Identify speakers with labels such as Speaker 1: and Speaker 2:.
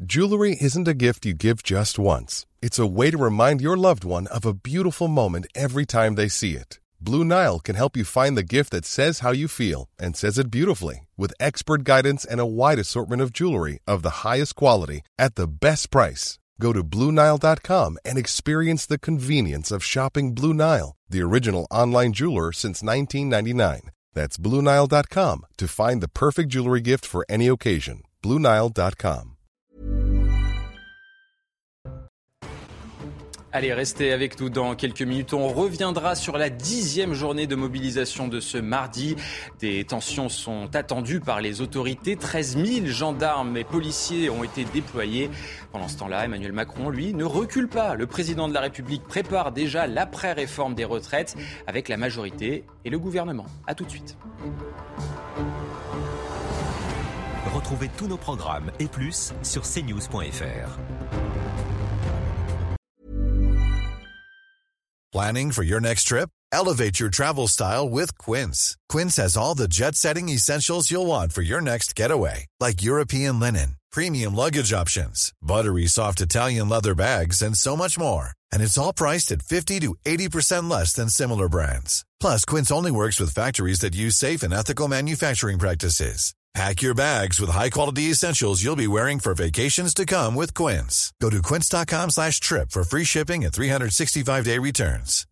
Speaker 1: Jewelry isn't a gift you give just once. It's a way to remind your loved one of a beautiful moment every time they see it. Blue Nile can help you find the gift that says how you feel and says it beautifully, with expert guidance and a wide assortment of jewelry of the highest quality at the best price. Go to BlueNile.com and experience the convenience of shopping Blue Nile, the original online jeweler since 1999. That's BlueNile.com to find the perfect jewelry gift for any occasion. BlueNile.com.
Speaker 2: Allez, restez avec nous dans quelques minutes. On reviendra sur la 10e journée de mobilisation de ce mardi. Des tensions sont attendues par les autorités. 13 000 gendarmes et policiers ont été déployés. Pendant ce temps-là, Emmanuel Macron, lui, ne recule pas. Le président de la République prépare déjà l'après-réforme des retraites avec la majorité et le gouvernement. À tout de suite.
Speaker 3: Retrouvez tous nos programmes et plus sur cnews.fr.
Speaker 4: Planning for your next trip? Elevate your travel style with Quince. Quince has all the jet-setting essentials you'll want for your next getaway, like European linen, premium luggage options, buttery soft Italian leather bags, and so much more. And it's all priced at 50 to 80% less than similar brands. Plus, Quince only works with factories that use safe and ethical manufacturing practices. Pack your bags with high-quality essentials you'll be wearing for vacations to come with Quince. Go to quince.com/trip for free shipping and 365-day returns.